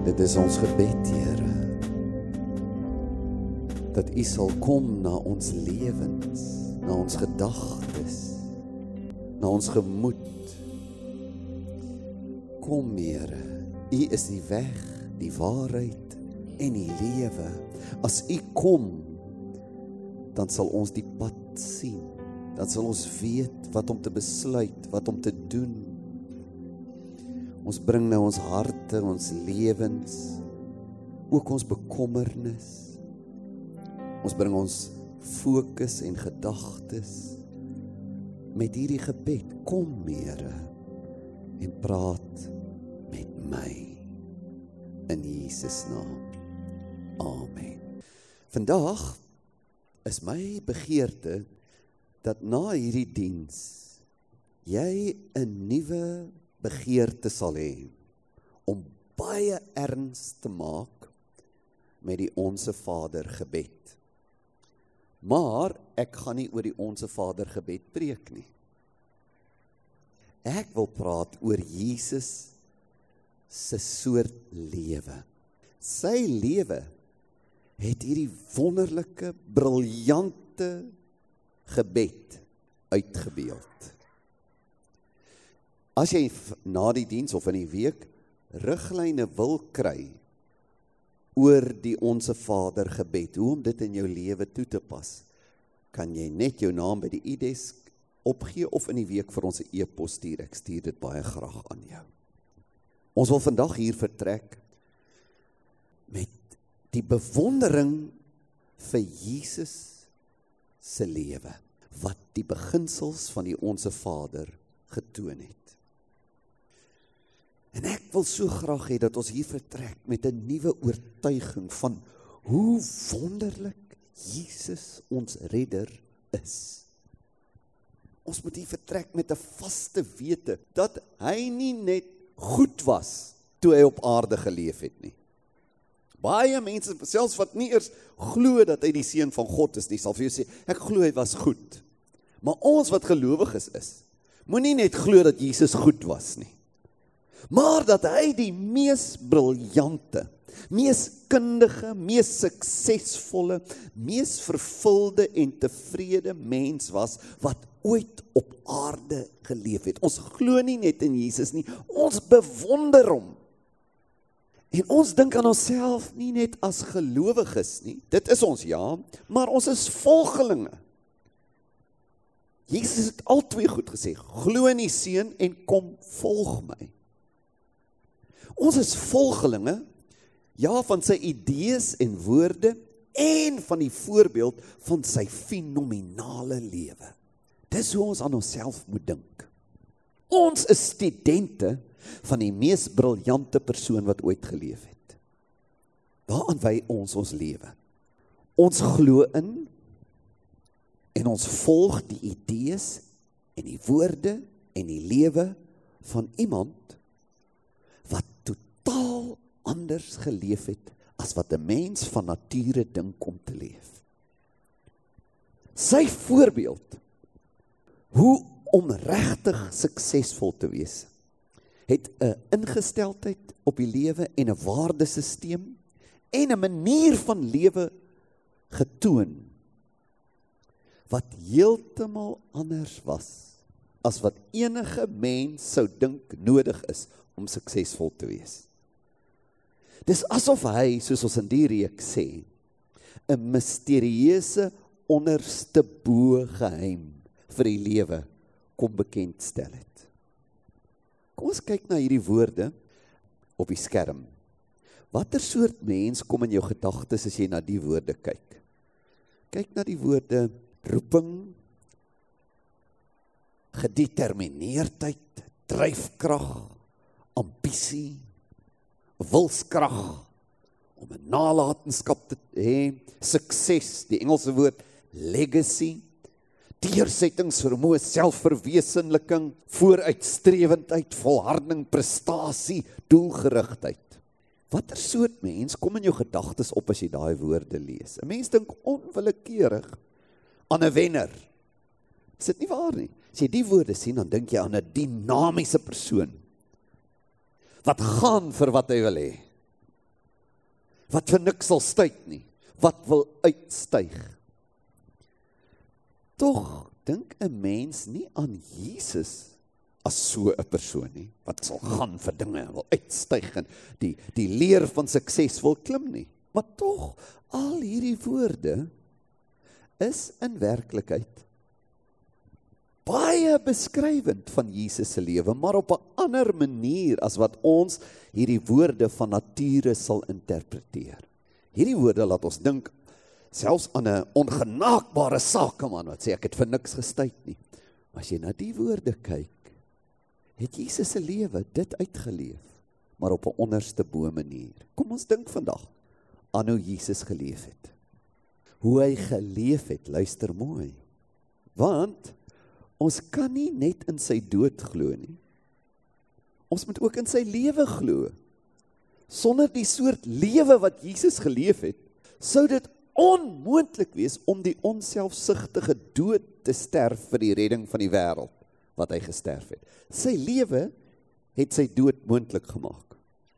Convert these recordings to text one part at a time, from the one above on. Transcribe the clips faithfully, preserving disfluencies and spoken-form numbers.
Dit is ons gebed, Here, dat U sal kom na ons lewens, na ons gedagtes, na ons gemoed. Kom, Here, U is die weg, die waarheid en die lewe. As U kom, dan sal ons die pad sien. Dan sal ons weet wat om te besluit, wat om te doen. Ons bring nou ons harte, ons lewens, ook ons bekommernis. Ons bring ons fokus en gedagtes met hierdie gebed. Kom, Here, en praat met my. In Jesus naam. Amen. Vandag is my begeerte dat na hierdie diens jy 'n nuwe begeerte sal hê om baie erns te maak met die Onse Vader gebed. Maar ek gaan nie oor die Onse Vader gebed preek nie. Ek wil praat oor Jesus se soort lewe. Sy lewe het hierdie wonderlike, briljante gebed uitgebeeld. As jy na die diens of in die week riglyne wil kry oor die Onse Vader gebed, hoe om dit in jou lewe toe te pas, kan jy net jou naam by die e-desk opgee of in die week vir ons 'n e-pos stuur. Ek stuur dit baie graag aan jou. Ons wil vandag hier vertrek met die bewondering vir Jesus se lewe, wat die beginsels van die Onse Vader getoon het. En ek wil so graag hê dat ons hier vertrek met 'n nuwe oortuiging van hoe wonderlik Jesus ons redder is. Ons moet hier vertrek met 'n vaste wete dat hy nie net goed was toe hy op aarde geleef het nie. Baie mense, selfs wat nie eers glo dat hy die seun van God is nie, sal vir jou sê, ek glo hy was goed. Maar ons wat gelowiges is, moenie net glo dat Jesus goed was nie, maar dat hy die mees briljante, mees kundige, mees suksesvolle, mees vervulde en tevrede mens was, wat ooit op aarde geleef het. Ons glo nie net in Jesus nie, ons bewonder hom. En ons dink aan onsself nie net as gelowiges nie, dit is ons ja, maar ons is volgelinge. Jesus het al twee goed gesê, glo in die seun en kom volg my. Ons is volgelinge, ja, van sy idees en woorde, en van die voorbeeld van sy fenominale lewe. Dis hoe ons aan onsself moet dink. Ons is studente van die mees briljante persoon wat ooit geleef het. Waaraan wy ons ons lewe? Ons glo in en ons volg die idees en die woorde en die lewe van iemand wat totaal anders geleef het as wat 'n mens van nature dink om te leef. Sy voorbeeld, hoe om regtig suksesvol te wees, het 'n ingesteldheid op die lewe en 'n waardesisteem en 'n manier van lewe getoon wat heeltemal anders was as wat enige mens sou dink nodig is om suksesvol te wees. Dis asof hy, soos ons in die reeks sê, 'n misterieuse onderste bo geheim vir die lewe kom bekendstel het. Kom ons kyk na hierdie woorde op die skerm. Watter soort mens kom in jou gedagtes as jy na die woorde kyk? Kyk na die woorde roeping, gedetermineerdheid, dryfkrag, ambisie, wilskrag, om 'n nalatenskap te hê, sukses, die Engelse woord legacy, deursettingsvermoë, selfverwesenliking, vooruitstrewendheid, volharding, prestasie, doelgerigtheid. Watter soort mens kom in jou gedagtes op as jy daai woorde lees? 'n Mens dink onwillekeurig aan 'n wenner. Is dit nie waar nie? As jy die woorde sien, dan dink jy aan 'n dinamiese persoon wat gaan vir wat hy wil hê. wat vir niks sal stuit nie, wat wil uitstyg. Tog dink 'n mens nie aan Jesus as so 'n persoon nie, wat sal gaan vir dinge en wil uitstyg en die, die leer van sukses wil klim nie. Maar tog, al hierdie woorde is in werklikheid baie beskrywend van Jesus se lewe, maar op 'n ander manier as wat ons hierdie woorde van nature sal interpreteer. Hierdie woorde laat ons dink selfs aan 'n ongenaakbare sakeman wat sê ek het vir niks gestuit nie. Maar as jy na die woorde kyk, het Jesus se lewe dit uitgeleef, maar op 'n onderste bo manier. Kom ons dink vandag aan hoe Jesus geleef het. Hoe hy geleef het, luister mooi. Want ons kan nie net in sy dood glo nie. Ons moet ook in sy lewe glo. Sonder die soort lewe wat Jesus geleef het, sou dit onmoontlik wees om die onselfsugtige dood te sterf vir die redding van die wêreld wat hy gesterf het. Sy lewe het sy dood moontlik gemaak.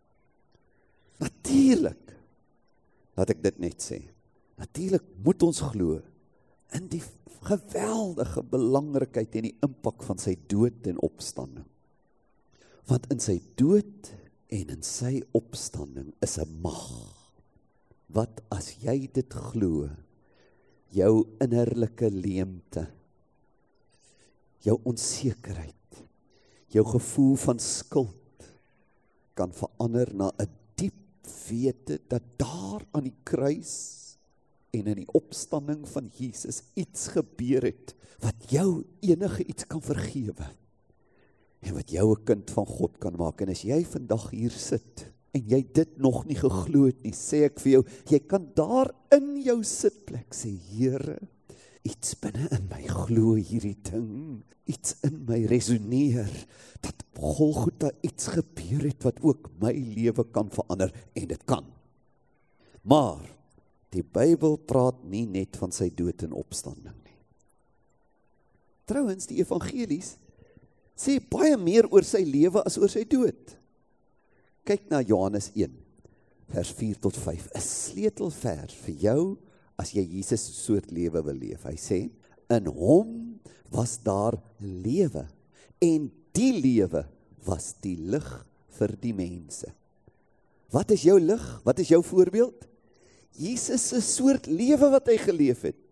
Natuurlik, laat ek dit net sê, natuurlik moet ons glo in die geweldige belangrikheid en die impak van sy dood en opstanding. Want in sy dood en in sy opstanding is 'n mag, wat as jy dit glo, jou innerlike leemte, jou onsekerheid, jou gevoel van skuld, kan verander na 'n diep wete dat daar aan die kruis en in die opstanding van Jesus iets gebeur het, wat jou enige iets kan vergewe, en wat jou 'n kind van God kan maak. En as jy vandag hier sit, en jy dit nog nie geglo het nie, sê ek vir jou, jy kan daar in jou sitplek sê, Here, iets binne in my glo hierdie ding, iets in my resoneer, dat op Golgotha iets gebeur het, wat ook my lewe kan verander, en dit kan. Maar, die Bybel praat nie net van sy dood en opstanding nie. Trouwens, die evangelies sê baie meer oor sy lewe as oor sy dood. Kyk na Johannes een, vers vier tot vyf, 'n sleutelvers vir jou as jy Jesus se soort lewe wil leef. Hy sê, in hom was daar lewe, en die lewe was die lig vir die mense. Wat is jou lig? Wat is jou voorbeeld? Jesus se soort lewe wat hy geleef het.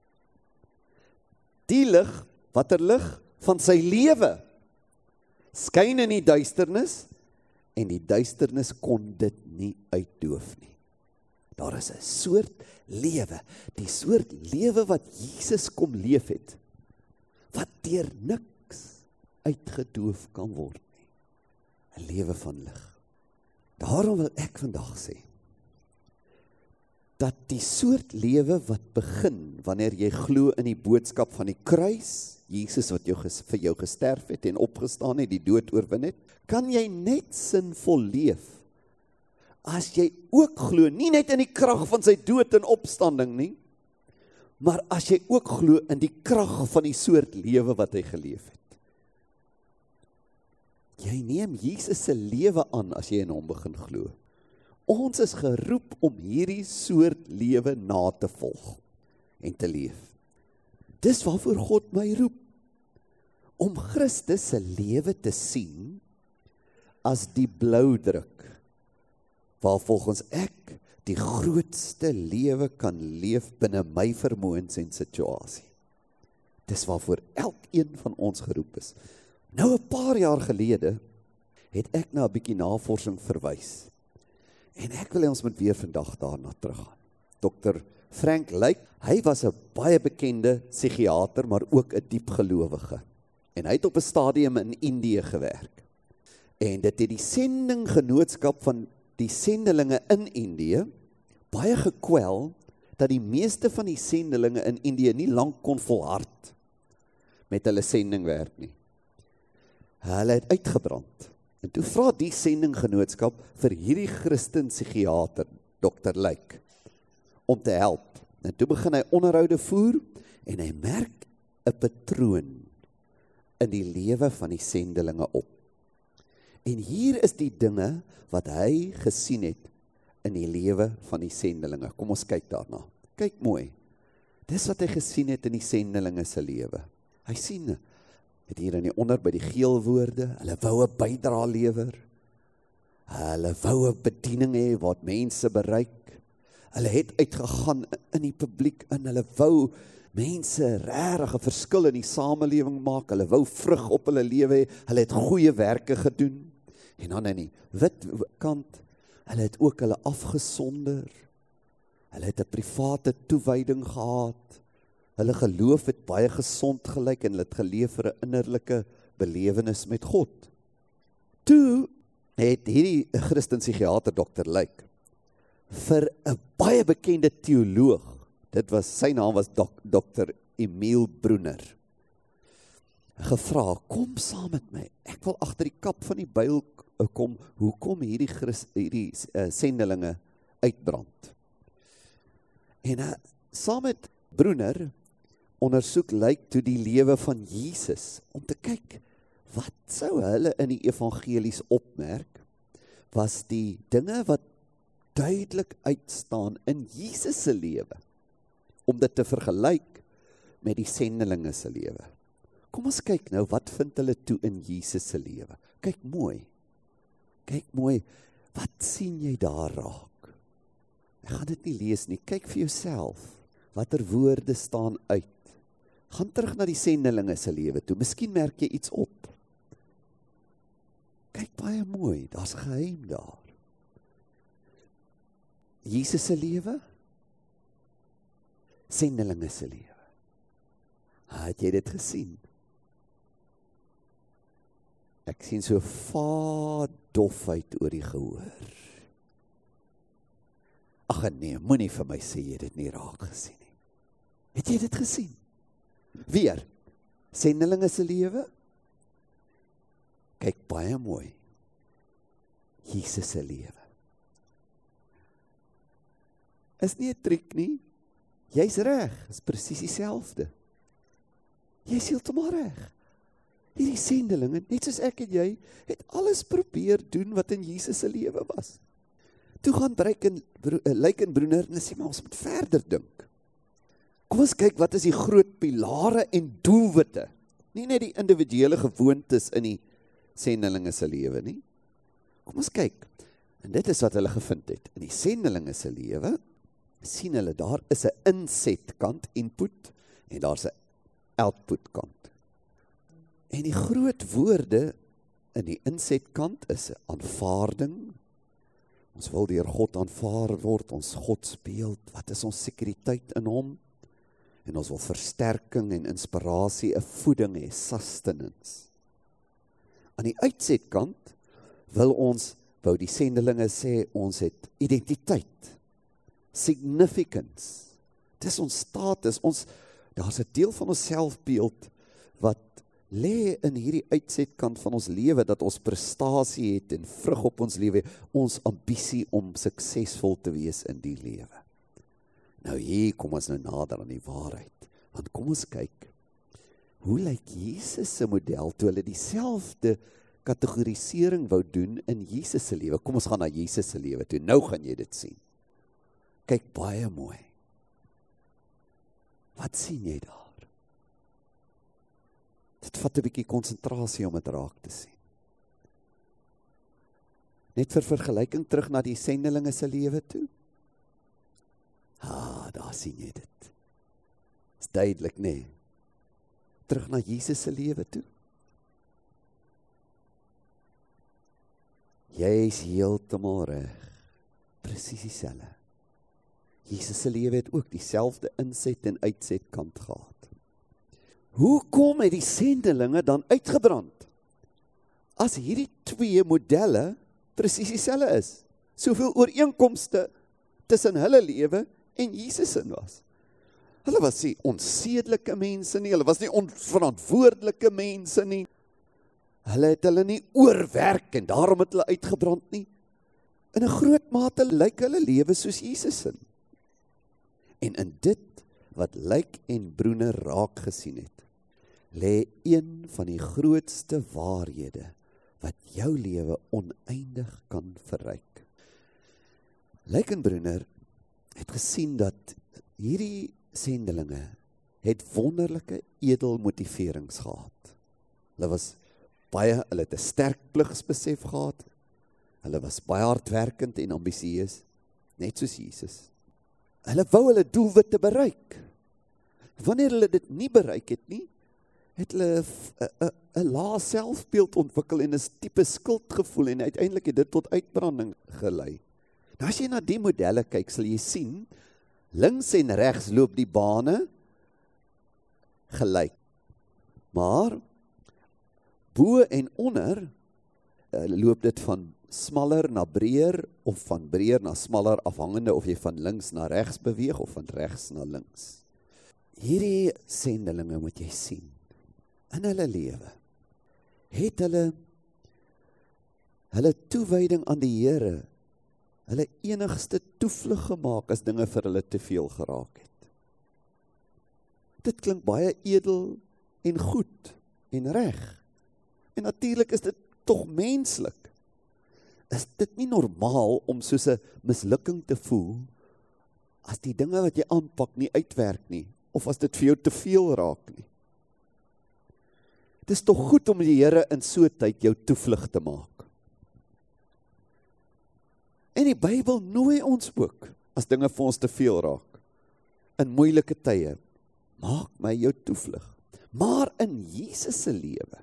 Die lig, watter lig? Van sy lewe, skyn in die duisternis, en die duisternis kon dit nie uitdoof nie. Daar is 'n soort lewe, die soort lewe wat Jesus kom leef het, wat deur niks uitgedoof kan word nie. 'n Lewe van lig. Daarom wil ek vandag sê, dat die soort lewe wat begin, wanneer jy glo in die boodskap van die kruis, Jesus wat jou, vir jou gesterf het en opgestaan het, die dood oorwin het, kan jy net sinvol leef, as jy ook glo, nie net in die krag van sy dood en opstanding nie, maar as jy ook glo in die krag van die soort lewe wat hy geleef het. Jy neem Jesus se lewe aan as jy in hom begin glo. Ons is geroep om hierdie soort lewe na te volg en te leef. Dis waarvoor God my roep, om Christus se lewe te sien as die bloudruk, waar volgens ek die grootste lewe kan leef binne my vermoëns en situasie. Dis waarvoor elkeen van ons geroep is. Nou 'n paar jaar gelede het ek na 'n bietjie navorsing verwys. En ek wil ons moet weer vandag daarna teruggaan. dokter Frank Lyk, hy was 'n baie bekende psigiater, maar ook 'n diep gelowige. En hy het op 'n stadium in Indië gewerk. En dit het die sendinggenootskap van die sendelinge in Indië baie gekwel, dat die meeste van die sendelinge in Indië nie lank kon volhard met hulle sendingwerk nie. Hulle het uitgebrand. En toe vra die sendinggenootskap vir hierdie Christen psigiater, dokter Lyk, om te help. En toe begin hy onderhoude voer, en hy merk 'n patroon in die lewe van die sendelinge op. En hier is die dinge wat hy gesien het in die lewe van die sendelinge. Kom ons kyk daarna. Kyk mooi. Dis wat hy gesien het in die sendelinge se lewe. Hy sien, het hier in die onder by die geel woorde, hulle wou 'n bydra lewer. Hulle wou 'n bediening hê wat mense bereik. Hulle het uitgegaan in die publiek in, hulle wou mense regtig 'n verskil in die samelewing maak, hulle wou vrug op hulle lewe hê, hulle het goeie werke gedoen. En dan in die wit kant, hulle het ook hulle afgesonder. Hulle het 'n private toewyding gehad. Hulle geloof het baie gesond gelyk en hulle het geleef vir 'n innerlike belewenis met God. Toe het hierdie Christen-psigiater dokter Lyk vir 'n baie bekende teoloog, dit was, sy naam was dok, dokter Emil Brunner, gevra, kom saam met my, ek wil agter die kap van die byl kom, hoekom hierdie, Christ, hierdie uh, sendelinge uitbrand. En uh, saam met Brunner ondersoek Lyk toe die lewe van Jesus, om te kyk, wat sou hulle in die evangelies opmerk, was die dinge wat duidelik uitstaan in Jesus se lewe, om dit te vergelyk met die sendelinge se lewe. Kom ons kyk nou, wat vind hulle toe in Jesus se lewe? Kyk mooi, kyk mooi, wat sien jy daar raak? Ek gaan dit nie lees nie, kyk vir jouself, watter woorde staan uit. Gaan terug na die sendelinge se lewe toe, miskien merk jy iets op. Kyk baie mooi, daar's geheim daar. Jesus se lewe, sendelinge se lewe. Het jy dit gesien? Ek sien so vaar dofheid oor die gehoor. Ag nee, moenie vir my sê jy dit nie raak gesien nie. Het jy dit gesien? Weer, sendelinge se lewe, kyk baie mooi, Jesus se lewe. Is nie 'n triek nie, jy's reg, is presies dieselfde. Jy's heeltemal reg. Hierdie sendelinge, net soos ek en jy, het alles probeer doen wat in Jesus se lewe was. Toe gaan Lyk en Brunner en sê, maar ons moet verder dink. Kom ons kyk, wat is die groot pilare en doelwitte? Nie net die individuele gewoontes in die sendelinge se lewe nie. Kom ons kyk, en dit is wat hulle gevind het. In die sendelinge se lewe, sien hulle, daar is 'n insetkant, input, en daar's 'n output kant. En die groot woorde in die insetkant is 'n aanvaarding. Ons wil deur God aanvaar word, ons God speel, wat is ons sekuriteit in hom? En ons wil versterking en inspirasie, 'n voeding hê, sustenance. Aan die uitsetkant wil ons, wou die sendelinge sê, ons het identiteit, significance. Dit is ons status, ons, daar's 'n deel van ons selfbeeld wat lê in hierdie uitsetkant van ons lewe, dat ons prestasie het en vrug op ons lewe, ons ambisie om suksesvol te wees in die lewe. Nou hier kom ons nou nader aan die waarheid, want kom ons kyk, hoe lyk Jesus se model, toe hulle dieselfde kategorisering wou doen in Jesus se lewe. Kom ons gaan na Jesus se lewe toe, nou gaan jy dit sien. Kyk baie mooi. Wat sien jy daar? Dit vat 'n bietjie konsentrasie om dit raak te sien. Net vir vergelyking terug na die sendelinge se lewe toe. Ah, daar sien jy dit. Is duidelik, nee. Terug na Jesus se lewe toe. Jy is heeltemal reg. Presies dieselfde. Jesus se lewe het ook dieselfde inset en uitset kant gehad. Hoekom het die sendelinge dan uitgebrand? As hierdie twee modelle presies dieselfde is. Soveel ooreenkomste tussen hulle lewe en Jesus se was. Hulle was nie onsedelike mense nie, hulle was nie onverantwoordelike mense nie. Hulle het hulle nie oorwerk en daarom het hulle uitgebrand nie. In 'n groot mate lyk hulle lewe soos Jesus se. En in dit wat Lyk en Brunner raak gesien het, lê een van die grootste waarhede wat jou lewe oneindig kan verryk. Lykenbruner het gesien dat hierdie sendelinge het wonderlike edelmotiverings gehad. Hulle was baie, hulle het 'n sterk pligsbesef gehad. Hulle was baie hardwerkend en ambisieus, net soos Jesus. Hulle wou hulle doelwitte bereik. Wanneer hulle dit nie bereik het nie, het hulle 'n lae selfbeeld ontwikkel en 'n tipe skuldgevoel en uiteindelik het dit tot uitbranding gelei. Nou as jy na die modelle kyk, sal jy sien, links en regs loop die bane gelyk. Maar bo en onder loop dit van smaller na breër of van breër na smaller, afhangende of jy van links na regs beweeg of van regs na links. Hierdie sendelinge moet jy sien, in hulle lewe, het hulle hulle toewyding aan die Here, hulle enigste toevlug gemaak as dinge vir hulle te veel geraak het. Dit klink baie edel en goed en reg. En natuurlik is dit tog menslik. Is dit nie normaal om soos 'n mislukking te voel as die dinge wat jy aanpak nie uitwerk nie, of as dit vir jou te veel raak nie? Dit is tog goed om die Here in so 'n tyd jou toevlug te maak. En die Bybel nooi ons ook, as dinge vir ons te veel raak, in moeilike tye, maak my jou toevlug. Maar in Jesus se lewe,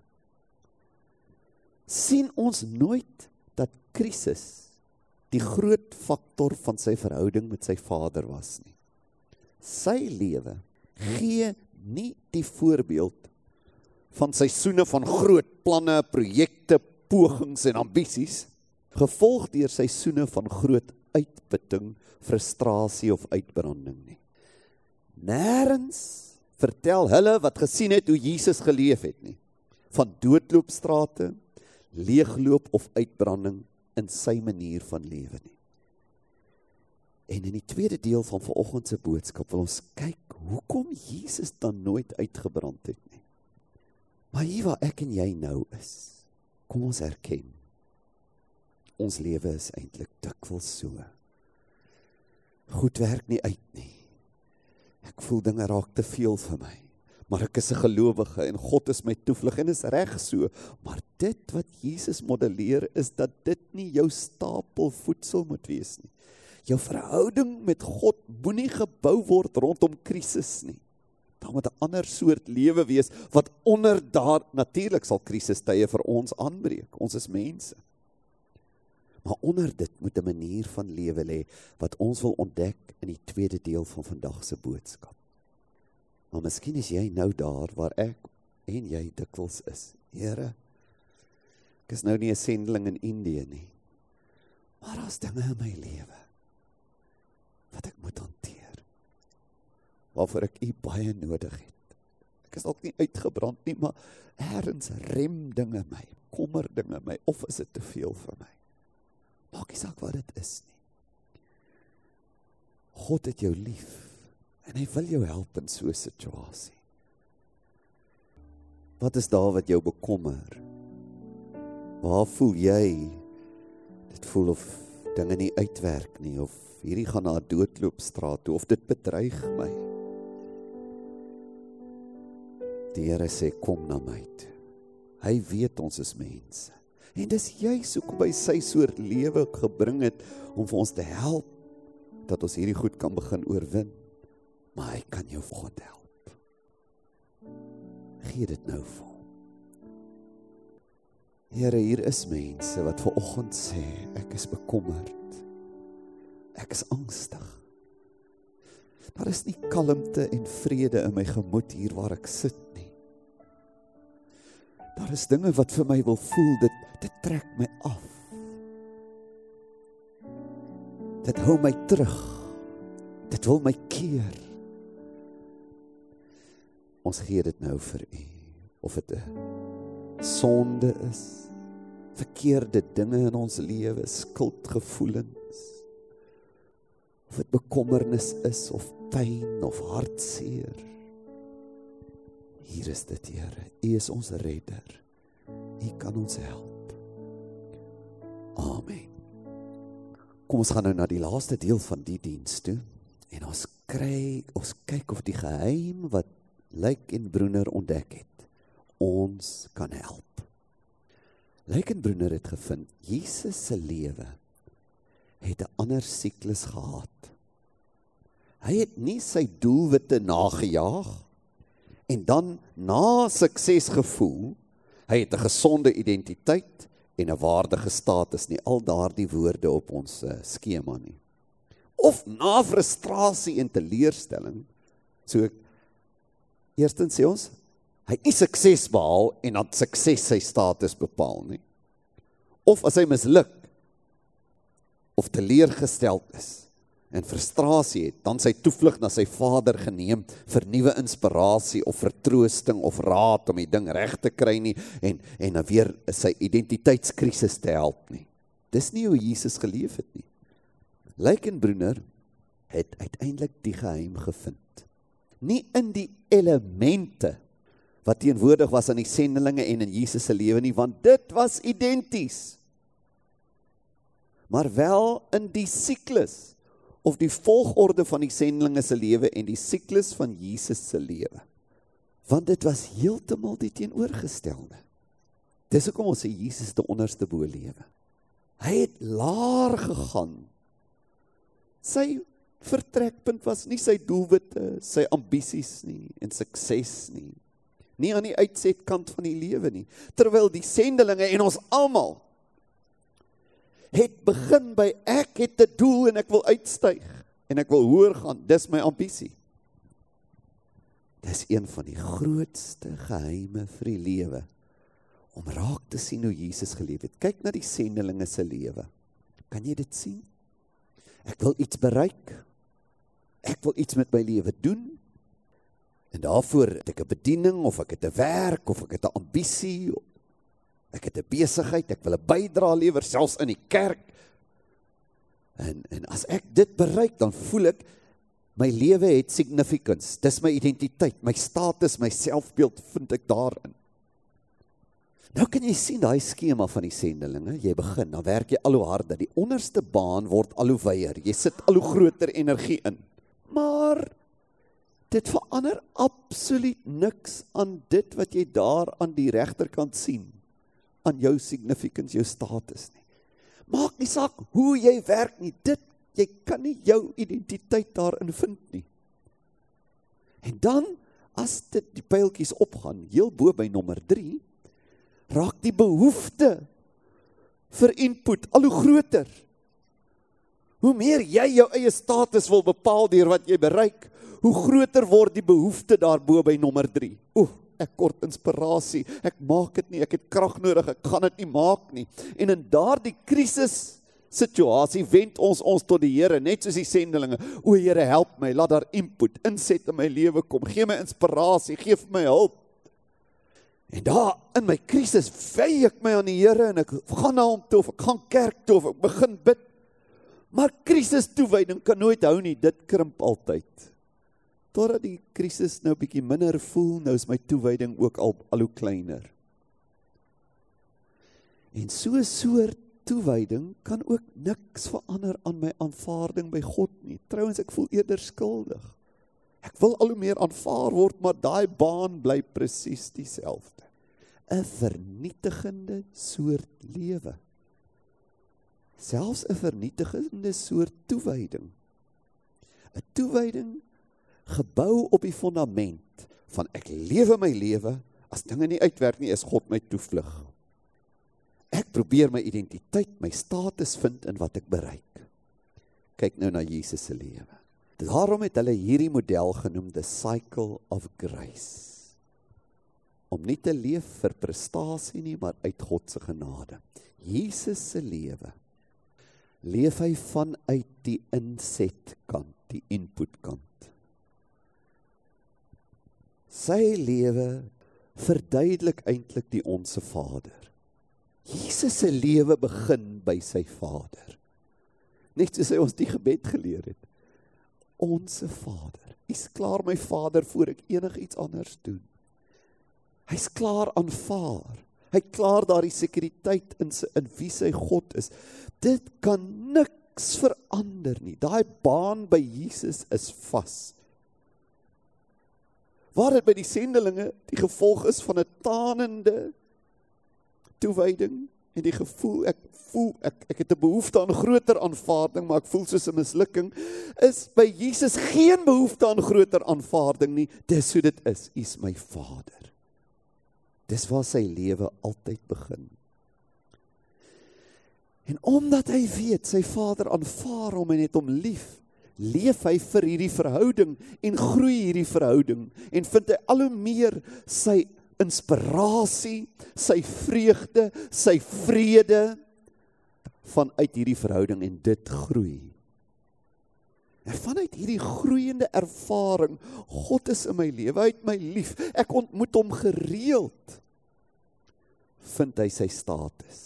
sien ons nooit dat krisis die groot faktor van sy verhouding met sy Vader was nie. Sy lewe gee nie die voorbeeld van seisoene van groot planne, projekte, pogings en ambisies, gevolg deur seisoene van groot uitputting, frustrasie of uitbranding nie. Nêrens vertel hulle wat gesien het hoe Jesus geleef het nie, van doodloopstrate, leegloop of uitbranding in sy manier van lewe nie. En in die tweede deel van vanoggend se boodskap wil ons kyk hoekom Jesus dan nooit uitgebrand het nie. Maar hier waar ek en jy nou is, kom ons erken, ons lewe is eintlik dikwels so. Goed werk nie uit nie. Ek voel dinge raak te veel vir my. Maar ek is 'n gelowige en God is my toevlug en is reg so. Maar dit wat Jesus modelleer is dat dit nie jou stapel voedsel moet wees nie. Jou verhouding met God moenie gebou word rondom krisis nie. Daar moet 'n ander soort lewe wees wat onder daar, natuurlik sal krisistye vir ons aanbreek. Ons is mense. Maar onder dit moet 'n manier van lewe lê wat ons wil ontdek in die tweede deel van vandag se boodskap. Maar miskien is jy nou daar waar ek en jy dikwels is. Here, ek is nou nie 'n sendeling in Indië nie, maar daar's dinge in my lewe wat ek moet hanteer, waarvoor ek U baie nodig het. Ek is dalk nie uitgebrand nie, maar ergens rem dinge my, kommer dinge my, of is dit te veel vir my? Maak nie saak wat dit is nie. God het jou lief, en hy wil jou help in so 'n situasie. Wat is daar wat jou bekommer? Waar voel jy, dit voel of dinge nie uitwerk nie, of hierdie gaan na 'n doodloopstraat toe, of dit bedreig my? Die Here sê, kom na my toe. Hy weet ons is mense. En dis juis hoekom hy sy soort lewe gebring het, om vir ons te help, dat ons hierdie goed kan begin oorwin. Maar hy kan jou God help. Gee dit nou vir hom. Here, hier is mense wat vanoggend sê, ek is bekommerd. Ek is angstig. Daar is nie kalmte en vrede in my gemoed hier waar ek sit nie. Daar is dinge wat vir my wil voel, dit, dit trek my af. Dit hou my terug. Dit wil my keer. Ons gee dit nou vir U, of dit 'n sonde is, verkeerde dinge in ons lewe, skuldgevoelens, of dit bekommernis is, of pyn, of hartseer. Hier is dit, Here, U is ons redder, U kan ons help. Amen. Kom ons gaan nou na die laaste deel van die diens toe, en ons kry, ons kyk of die geheim wat Lyk en Broener ontdek het, ons kan help. Lyk en Broener het gevind, Jesus se lewe het 'n ander siklus gehad. Hy het nie sy doelwitte nagejaag, en dan na sukses gevoel, hy het 'n gesonde identiteit, en 'n waardige status nie, al daardie woorde op ons uh, skema nie. Of na frustrasie en teleurstelling, so eerstens sê ons, hy het nie sukses behaal, en dan sukses sy status bepaal nie. Of as hy misluk, of teleurgesteld is, en frustrasie het, dan sy toevlug na sy Vader geneem, vir nuwe inspirasie, of vertroosting, of raad, om die ding reg te kry nie, en, en dan weer sy identiteitskrisis te help nie. Dis nie hoe Jesus geleef het nie. Lyk en Broener het uiteindelik die geheim gevind. Nie in die elemente, wat teenwoordig was aan die sendelinge en in Jesus se lewe nie, want dit was identies. Maar wel in die siklus, of die volgorde van die sendelinge se lewe en die siklus van Jesus se lewe. Want dit was heeltemal die teenoorgestelde. Dis hoekom ons sê Jesus te onderste bo lewe. Hy het laer gegaan. Sy vertrekpunt was nie sy doelwitte, sy ambisies nie, en sukses nie. Nie aan die uitsetkant van die lewe nie. Terwyl die sendelinge en ons almal het begin by ek het 'n doel en ek wil uitstyg en ek wil hoër gaan, dis my ambisie. Dis een van die grootste geheime vir die lewe, om raak te sien hoe Jesus geleef het. Kyk na die sendelinge se lewe. Kan jy dit sien? Ek wil iets bereik. Ek wil iets met my lewe doen. En daarvoor het ek 'n bediening, of ek het 'n werk, of ek het 'n ambisie, ek het 'n besigheid, ek wil 'n bydrae lewer, selfs in die kerk. En, en as ek dit bereik, dan voel ek, my lewe het significance, dis my identiteit, my status, my selfbeeld vind ek daarin. Nou kan jy sien daai skema van die sendelinge, jy begin, dan werk jy al hoe harder, die onderste baan word al hoe wyer, jy sit al hoe groter energie in. Maar dit verander absoluut niks aan dit wat jy daar aan die regterkant sien, aan jou significance, jou status nie. Maak nie saak hoe jy werk nie, dit, jy kan nie jou identiteit daarin vind nie. En dan, as dit die pyltjies opgaan, heel bo by nommer drie, raak die behoefte vir input al hoe groter. Hoe meer jy jou eie status wil bepaal deur wat jy bereik, hoe groter word die behoefte daarbo by nommer drie. Oeh, ek kort inspirasie, ek maak dit nie, ek het krag nodig, ek gaan dit nie maak nie. En in daardie krisis situasie wend ons ons tot die Here, net soos die sendelinge. O Here, help my, laat daar input, inset in my lewe kom, gee my inspirasie, gee vir my hulp. En daar in my krisis wy ek my aan die Here en ek gaan na hom toe, of ek gaan kerk toe, of ek begin bid. Maar krisis toewyding kan nooit hou nie, dit krimp altyd. Totdat die krisis nou bietjie minder voel, nou is my toewyding ook al, al hoe kleiner. En so 'n soort toewyding kan ook niks verander aan my aanvaarding by God nie. Trouwens, ek voel eerder skuldig. Ek wil al hoe meer aanvaar word, maar daai baan bly presies dieselfde. 'n Vernietigende soort lewe. Selfs 'n vernietigende soort toewyding. 'n Toewyding gebou op die fundament van ek lewe my lewe, as dinge nie uitwerk nie, is God my toevlug. Ek probeer my identiteit, my status vind in wat ek bereik. Kyk nou na Jesus se lewe. Daarom het hulle hierdie model genoem, the cycle of grace. Om nie te leef vir prestasie nie, maar uit God se genade. Jesus se lewe, leef hy vanuit die insetkant, die inputkant. Sy lewe verduidelik eintlik die Onse Vader. Jesus se lewe begin by sy Vader. Net soos hy ons die gebed geleer het. Onse Vader. Hy's klaar my Vader voor ek enig iets anders doen. Hy's klaar aanvaar. Hy klaar daar die sekuriteit in, sy, in wie sy God is. Dit kan niks niks verander nie. Daai baan by Jesus is vas. Waar dit by die sendelinge die gevolg is van 'n tanende toewyding en die gevoel, ek voel, ek, ek het 'n behoefte aan groter aanvaarding, maar ek voel soos 'n mislukking, is by Jesus geen behoefte aan groter aanvaarding nie. Dis hoe dit is. U is my Vader. Dis waar sy lewe altyd begin. En omdat hy weet, sy Vader aanvaar hom en het hom lief, leef hy vir hierdie verhouding en groei hierdie verhouding en vind hy al hoe meer sy inspirasie, sy vreugde, sy vrede vanuit hierdie verhouding en dit groei. En vanuit hierdie groeiende ervaring, God is in my lewe, hy het my lief, ek ontmoet hom gereeld, vind hy sy status.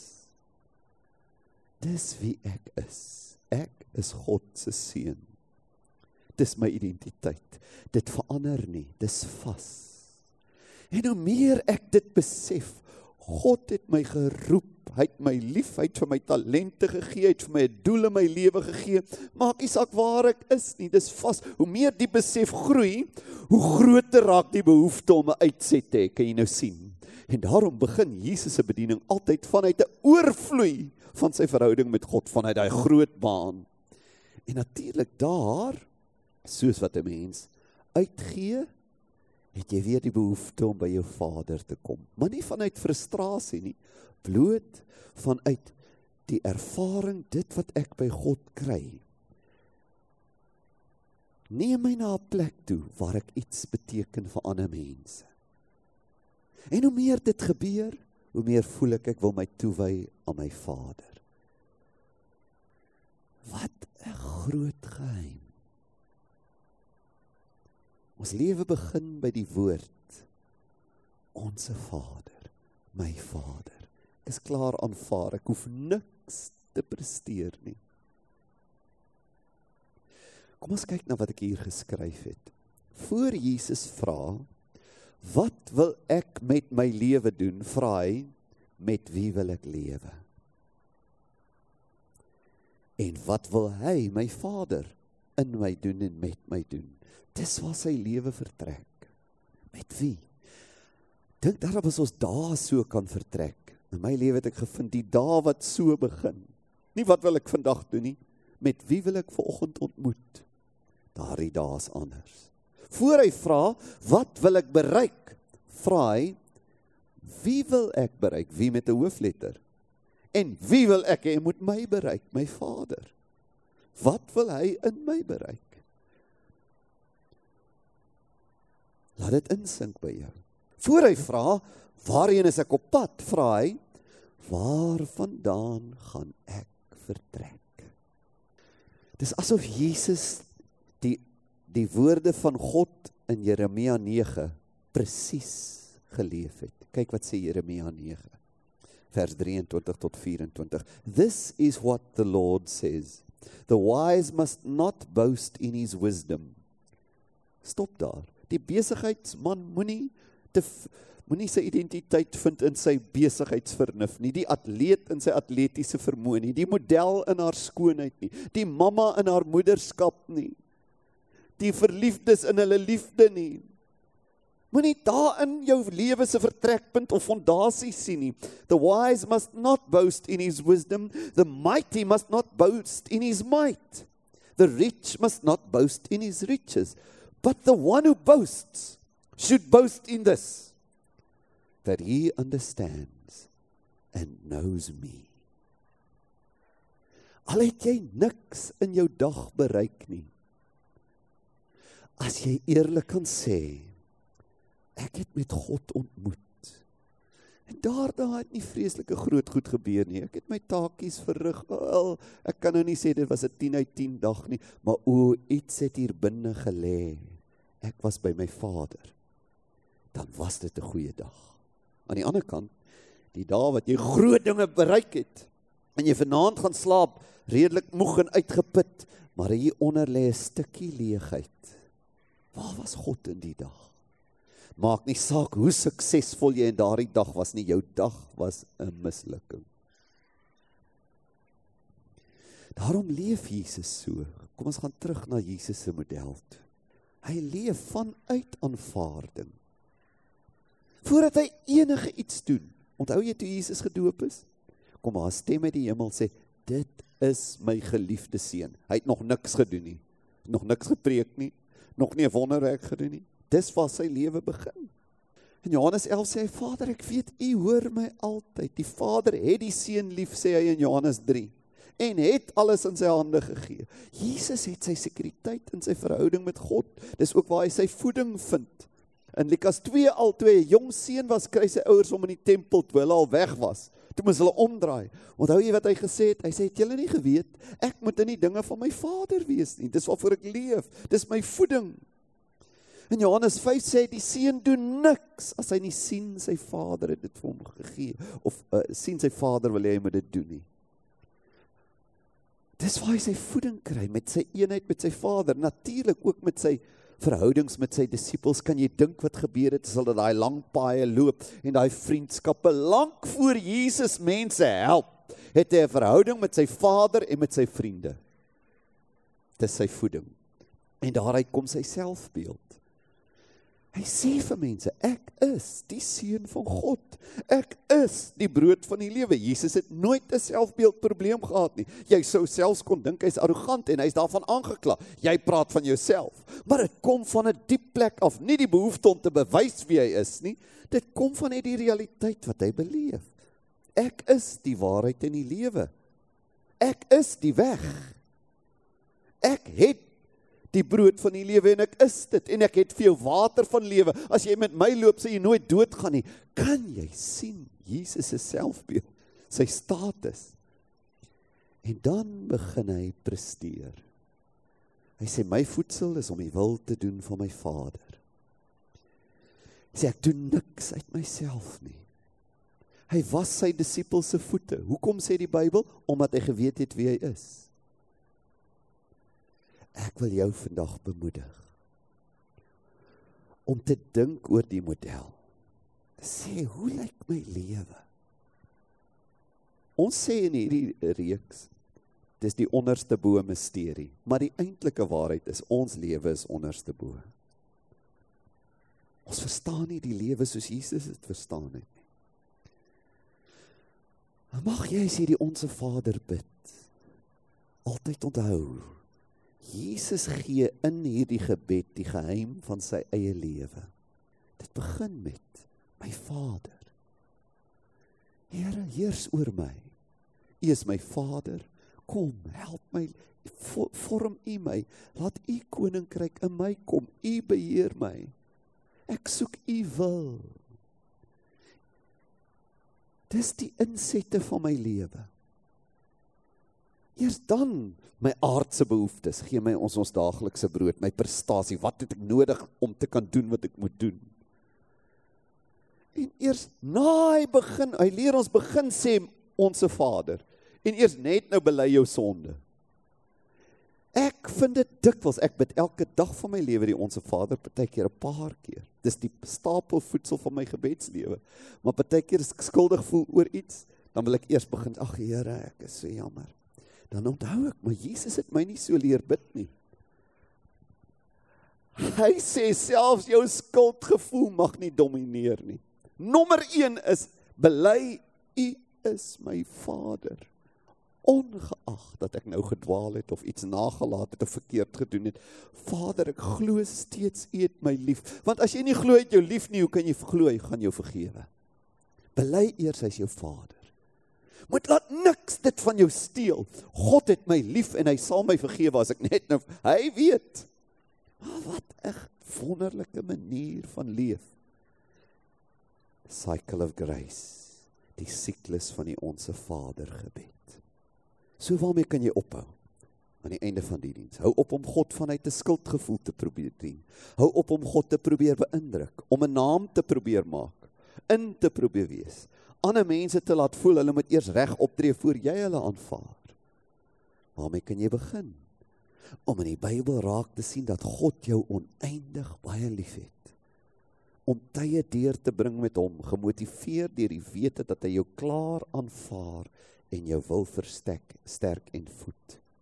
Dis wie ek is. Ek is God se seun. Dis my identiteit. Dit verander nie, dis vas. En hoe meer ek dit besef, God het my geroep, hy het my lief, hy het vir my talente gegee, hy het vir my 'n doel in my lewe gegee, maak nie saak waar ek is nie, dis vas. Hoe meer die besef groei, hoe groter raak die behoefte om 'n uitset te hê, kan jy nou sien. En daarom begin Jesus se bediening altyd vanuit 'n oorvloei van sy verhouding met God, vanuit daai groot baan. En natuurlik daar, soos wat 'n mens uitgee, het jy weer die behoefte om by jou Vader te kom. Maar nie vanuit frustrasie nie, bloot vanuit die ervaring, dit wat ek by God kry. Neem my na 'n plek toe, waar ek iets beteken vir ander mense. En hoe meer dit gebeur, hoe meer voel ek, ek wil my toewy aan my Vader. Wat 'n groot geheim. Ons lewe begin by die woord, onse Vader, my Vader. Ek is klaar aanvaar, ek hoef niks te presteer nie. Kom ons kyk na wat ek hier geskryf het. Voor Jesus vra, wat wil ek met my lewe doen, vra hy, met wie wil ek lewe? En wat wil hy, my Vader, in my doen en met my doen? Dis waar sy lewe vertrek. Met wie? Dink daarop as ons dae so kan vertrek. In my lewe het ek gevind, die dae wat so begin. Nie wat wil ek vandag doen nie, met wie wil ek vanoggend ontmoet? Daardie dae is anders. Voor hy vra, wat wil ek bereik? Vra hy, wie wil ek bereik? Wie met 'n hoofletter? En wie wil ek hê moet my bereik? My Vader. Wat wil hy in my bereik? Laat dit insink by jou. Voor hy vra, waarheen is ek op pad? Vra hy, waar vandaan gaan ek vertrek? Dis asof Jesus die, die woorde van God in Jeremia nege presies geleef het. Kyk wat sê Jeremia nege, vers drieëntwintig tot vyf-en-twintig. This is what the Lord says. The wise must not boast in his wisdom. Stop daar. Die besigheidsman moenie te moenie sy identiteit vind in sy besigheidsvernuf nie, die atleet in sy atletiese vermoë nie, die model in haar skoonheid nie, die mamma in haar moederskap nie, die verliefdes in hulle liefde nie. Moenie daar in jou lewe se vertrekpunt of fondasie sien nie. The wise must not boast in his wisdom, the mighty must not boast in his might, the rich must not boast in his riches. But the one who boasts should boast in this, that he understands and knows me. Al het jy niks in jou dag bereik nie, as jy eerlik kan sê, ek het met God ontmoet, en daarna het nie vreeslike groot goed gebeur nie, ek het my taakies verrig, wel, ek kan nou nie sê, dit was 'n tien uit tien dag nie, maar o, iets het hier binne gelê, ek was by my Vader, dan was dit 'n goeie dag. Aan die ander kant, die dae wat jy groot dinge bereik het, en jy vanaand gaan slaap, redelik moeg en uitgeput, maar hier onder lê 'n stukkie leegheid. Waar was God in die dag? Maak nie saak hoe suksesvol jy in daardie dag was nie, jou dag was 'n mislukking. Daarom leef Jesus so. Kom ons gaan terug na Jesus se model toe. Hy leef vanuit aanvaarding. Voordat hy enige iets doen. Onthou jy toe Jesus gedoop is? Kom maar, 'n stem uit die hemel sê, dit is my geliefde seun. Hy het nog niks gedoen nie. Nog niks gepreek nie. Nog nie 'n wonderwerk gedoen nie. Dis waar sy lewe begin. In Johannes elf sê hy, Vader, ek weet, u hoor my altyd. Die Vader het die seun lief, sê hy in Johannes drie. En het alles in sy hande gegee. Jesus het sy sekuriteit in sy verhouding met God. Dis ook waar hy sy voeding vind. In Lukas twee al twee, 'n jong seun was kry sy ouers om in die tempel toe hulle al weg was. Toe moes hulle omdraai. Onthou jy wat hy gesê het? Hy sê, het julle nie geweet, ek moet in die dinge van my Vader wees nie. Dis waarvoor ek leef. Dis my voeding. In Johannes vyf sê, die seun doen niks, as hy nie sien sy Vader het dit vir hom gegee. Of uh, sien sy Vader wil hy moet dit doen nie. Dis waar hy sy voeding kry, met sy eenheid met sy Vader. Natuurlik ook met sy verhoudings met sy disippels. Kan jy dink wat gebeur het, as hulle daai lang paaie loop, en daai vriendskappe, lank voor Jesus mense help, het hy 'n verhouding met sy Vader en met sy vriende. Dis sy voeding. En daaruit kom sy selfbeeld. Hy sê vir mense, ek is die seun van God. Ek is die brood van die lewe. Jesus het nooit 'n selfbeeldprobleem gehad nie. Jy sou selfs kon dink hy's arrogant en hy's daarvan aangekla. Jy praat van jouself. Maar dit kom van 'n diep plek af, nie die behoefte om te bewys wie hy is nie. Dit kom van net die realiteit wat hy beleef. Ek is die waarheid en die lewe. Ek is die weg. Ek het die brood van die lewe en ek is dit, en ek het vir jou water van lewe. As jy met my loop, sal jy nooit doodgaan nie. Kan jy sien Jesus se selfbeeld, sy status? En dan begin hy presteer. Hy sê, my voedsel is om die wil te doen van my Vader. Hy sê, ek doen niks uit myself nie. Hy was sy disippels se voete. Hoekom sê die Bybel? Omdat hy geweet het wie hy is. Ek wil jou vandag bemoedig om te dink oor die model. Te sê, hoe lyk my lewe? Ons sê in hierdie reeks, dis die onderste bo misterie, maar die eintlike waarheid is, ons lewe is onderste bo. Ons verstaan nie die lewe soos Jesus het verstaan het nie. Mag jy as jy die Onse Vader bid, altyd onthou, Jesus gee in hierdie gebed die geheim van sy eie lewe. Dit begin met my Vader. Here, heers oor my. U is my Vader. Kom, help my, vorm U my. Laat U koninkryk in my kom. U beheer my. Ek soek U wil. Dis die insette van my lewe. Eers dan my aardse behoeftes, gee my ons ons daaglikse brood, my prestasie, wat het ek nodig om te kan doen wat ek moet doen. En eers na hy begin, hy leer ons begin sê, Onse Vader, en eers net nou bely jou sonde. Ek vind dit dikwels, ek bid elke dag van my lewe die Onse Vader, partykeer 'n paar keer. Dis die stapel voedsel van my gebedslewe. Maar partykeer as ek skuldig voel oor iets, dan wil ek eers begin, ag Here, ek is so jammer. Dan onthou ek, maar Jesus het my nie so leer bid nie. Hy sê selfs jou skuldgevoel mag nie domineer nie. Nommer een is, bely, U is my Vader. Ongeag dat ek nou gedwaal het, of iets nagelaat het, of verkeerd gedoen het. Vader, ek glo steeds, U het my lief. Want as jy nie glo het jou lief nie, hoe kan jy glo, hy gaan jou vergewe? Bely eers, hy is jou Vader. Moet laat niks dit van jou steel. God het my lief en hy sal my vergewe as ek net nou, hy weet. Maar wat 'n wonderlike manier van leef. Cycle of grace, die siklus van die Onse Vader gebed. So waarmee kan jy ophou? Aan die einde van die diens. Hou op om God vanuit 'n skuldgevoel te probeer dien. Hou op om God te probeer beïndruk, om 'n naam te probeer maak, in te probeer wees. Ander mense te laat voel, hulle moet eers reg optree voor jy hulle aanvaar. Waarmee kan jy begin? Om in die Bybel raak te sien dat God jou oneindig baie lief het. Om tye deur te bring met hom, gemotiveer deur die wete dat hy jou klaar aanvaar en jou wil versterk, sterk en voed.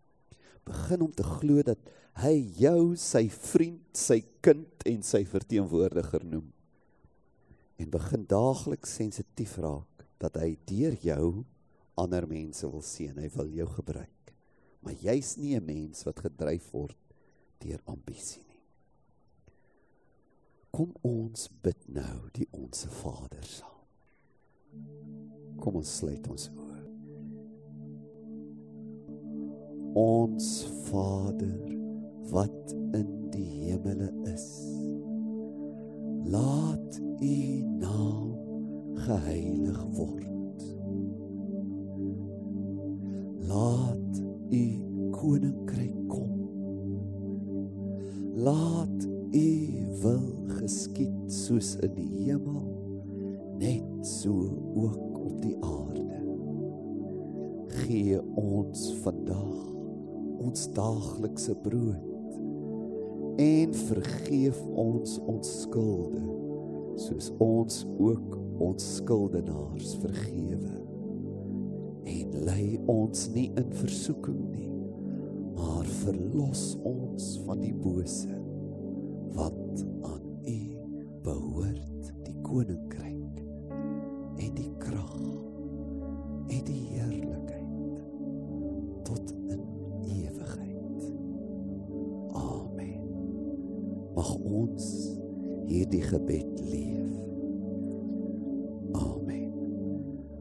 Begin om te glo dat hy jou sy vriend, sy kind en sy verteenwoordiger noem. En begin daagliks sensitief raak, dat hy deur jou ander mense wil sien, hy wil jou gebruik. Maar jy's nie 'n mens wat gedryf word deur ambisie nie. Kom ons bid nou die Onse Vader saam. Kom ons sluit ons oë. Ons Vader, wat in die hemele is, laat U naam geheilig word. Laat U koninkryk kom. Laat U wil geskied soos in die hemel, net so ook op die aarde. Gee ons vandag ons daaglikse brood en vergeef ons ons skulde, soos ons ook ons skuldenaars vergewe. En lei ons nie in versoeking nie, maar verlos ons van die bose, want aan U behoort die koninkryk en die krag en die heerlikheid tot in ewigheid. Amen. Mag ons hierdie gebed leef.